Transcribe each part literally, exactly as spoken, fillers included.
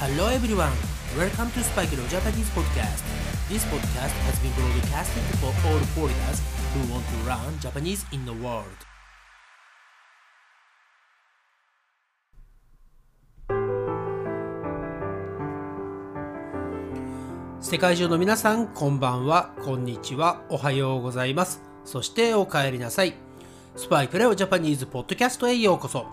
Hello everyone, welcome to Spike Leo Japanese Podcast. This podcast has been broadcasted for all foreigners who want to learn Japanese in the world. 世界中の皆さん、こんばんは、こんにちは、おはようございます。そしてお帰りなさい。スパイクレオジャパニーズポッドキャストへようこそ。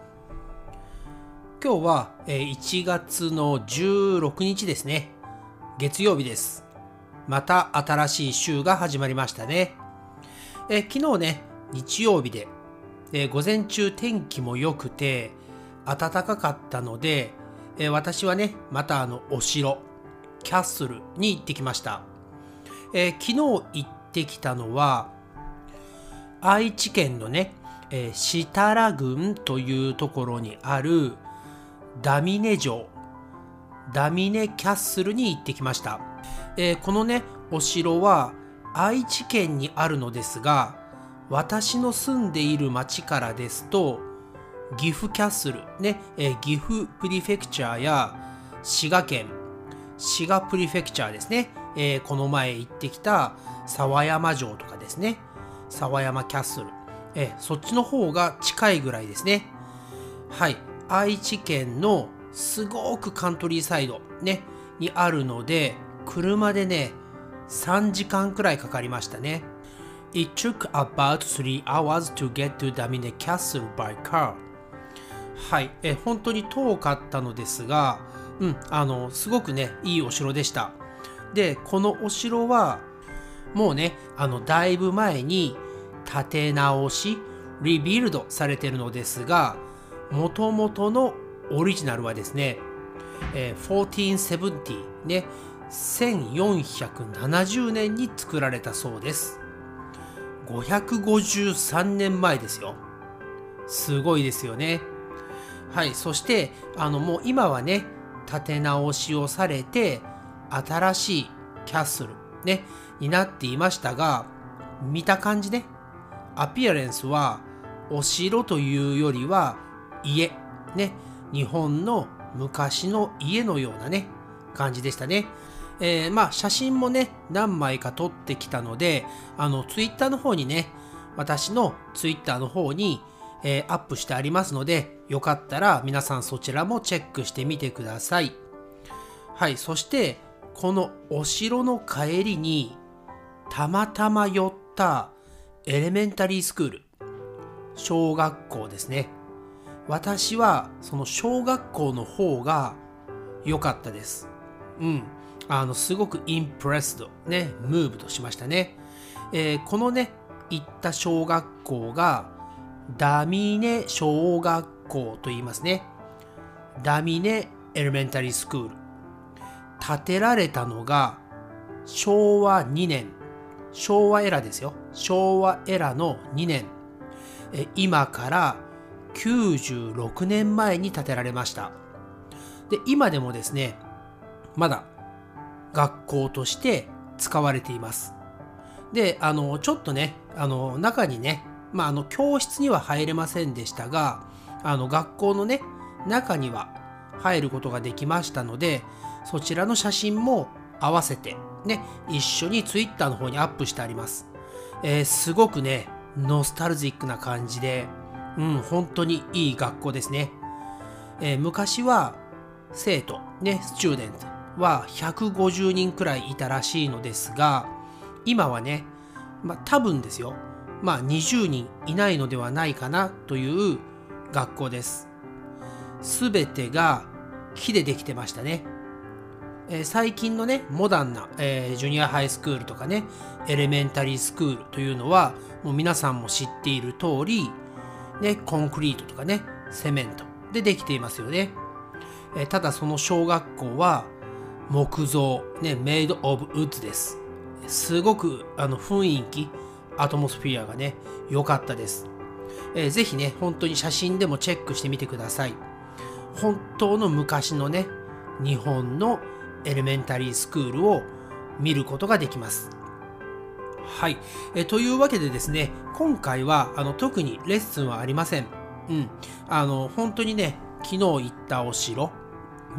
今日はいちがつのじゅうろくにちですね。月曜日です。また新しい週が始まりましたね。え昨日ね、日曜日で、え午前中天気も良くて暖かかったので、え私はね、またあのお城、キャッスルに行ってきました。え昨日行ってきたのは、愛知県のね、え設楽郡というところにあるダミネ城、ダミネキャッスルに行ってきました。えー、このね、お城は愛知県にあるのですが、私の住んでいる町からですと、岐阜キャッスル、ね、えー、岐阜プリフェクチャーや滋賀県、滋賀プリフェクチャーですね、えー、この前行ってきた沢山城とかですね、沢山キャッスル、えー、そっちの方が近いぐらいですね。はい。愛知県のすごくカントリーサイド、ね、にあるので、車でね、さんじかんくらいかかりましたね。It took about three hours to get to Damine Castle by car. はい、え、本当に遠かったのですが、うん、あの、すごくね、いいお城でした。で、このお城は、もうね、あの、だいぶ前に建て直し、リビルドされているのですが、もともとのオリジナルはですね、えー、せんよんひゃくななじゅうね、せんよんひゃくななじゅうねんに作られたそうです。ごひゃくごじゅうさんねんまえですよ。すごいですよね。はい、そしてあのもう今はね、建て直しをされて新しいキャッスルねになっていましたが、見た感じね、アピアレンスはお城というよりは家ね、日本の昔の家のようなね感じでしたね。えー、まあ写真もね何枚か撮ってきたので、あのツイッターの方にね、私のツイッターの方に、えー、アップしてありますので、よかったら皆さんそちらもチェックしてみてください。はい、そしてこのお城の帰りにたまたま寄ったエレメンタリースクール、小学校ですね。私はその小学校の方が良かったです。うん。あの、すごくインプレスド、ね、ムーブとしましたね。えー、このね、行った小学校がダミネ小学校と言いますね。ダミネエレメンタリースクール。建てられたのがしょうわにねん。昭和エラですよ。昭和エラのにねん。え今からきゅうじゅうろくねんまえに建てられました。で、今でもですね、まだ学校として使われています。で、あの、ちょっとね、あの、中にね、まあ、あの、教室には入れませんでしたが、あの、学校のね、中には入ることができましたので、そちらの写真も合わせて、ね、一緒にツイッターの方にアップしてあります。えー、すごくね、ノスタルジックな感じで、うん、本当にいい学校ですね。えー、昔は生徒、ね、スチューデントはひゃくごじゅうにんくらいいたらしいのですが、今はね、まあ多分ですよ、まあにじゅうにんいないのではないかなという学校です。すべてが木でできてましたね。えー、最近のね、モダンな、えー、ジュニアハイスクールとかね、エレメンタリースクールというのは、もう皆さんも知っている通り、ね、コンクリートとかね、セメントでできていますよね。えー、ただその小学校は木造、ね、メイドオブウッズです。すごくあの雰囲気、アトモスフィアがね、良かったです。えー、ぜひね、本当に写真でもチェックしてみてください。本当の昔のね、日本のエレメンタリースクールを見ることができます。はい、えというわけでですね、今回はあの特にレッスンはありません。うん、あの本当にね、昨日行ったお城ね、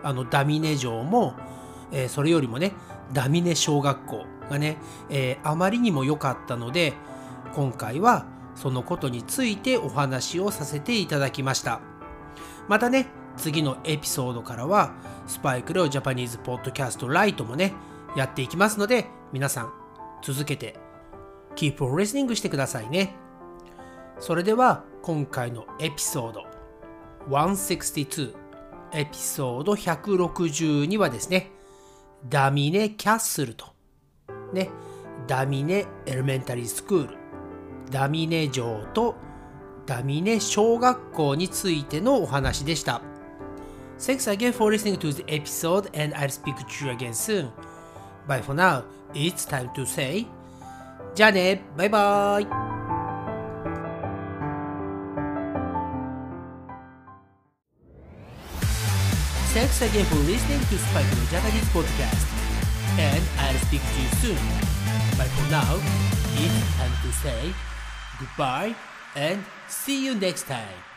あのダミネ城も、えー、それよりもねダミネ小学校がね、えー、あまりにも良かったので、今回はそのことについてお話をさせていただきました。またね、次のエピソードからはスパイクレオジャパニーズポッドキャストライトもねやっていきますので、皆さん続けて Keep on listening してくださいね。それでは今回のエピソードひゃくろくじゅうに、エピソードひゃくろくじゅうにはですね、ダミネキャッスルとね、ダミネエレメンタリースクール、ダミネ城とダミネ小学校についてのお話でした。Thanks again for listening to the episode, and I'll speak to you again soon. Bye for now. It's time to say じゃあね、バイバイ。Thanks again for listening to Spike no Japanese podcast, and I'll speak to you soon. But for now, it's time to say goodbye and see you next time.